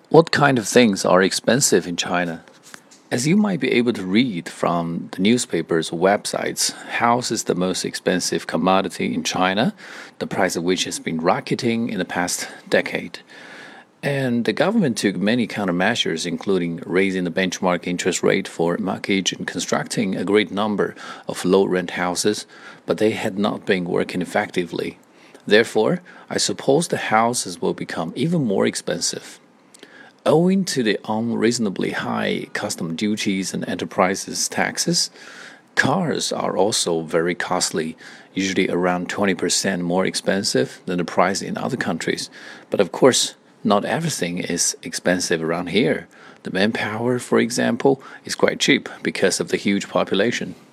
What kind of things are expensive in China? As you might be able to read from the newspapers or websites, house is the most expensive commodity in China, the price of which has been rocketing in the past decade. And the government took many countermeasures, including raising the benchmark interest rate for mortgage and constructing a great number of low rent houses, but they had not been working effectively. Therefore, I suppose the houses will become even more expensive. Owing to the unreasonably high custom duties and enterprises taxes, cars are also very costly, usually around 20% more expensive than the price in other countries. But of course, not everything is expensive around here. The manpower, for example, is quite cheap because of the huge population.